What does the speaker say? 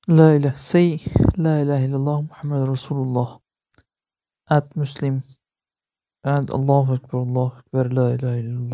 La ilahe say La ilaha illallah Muhammad Rasulullah at Muslim and Allahu Akbar La ilaha illallah.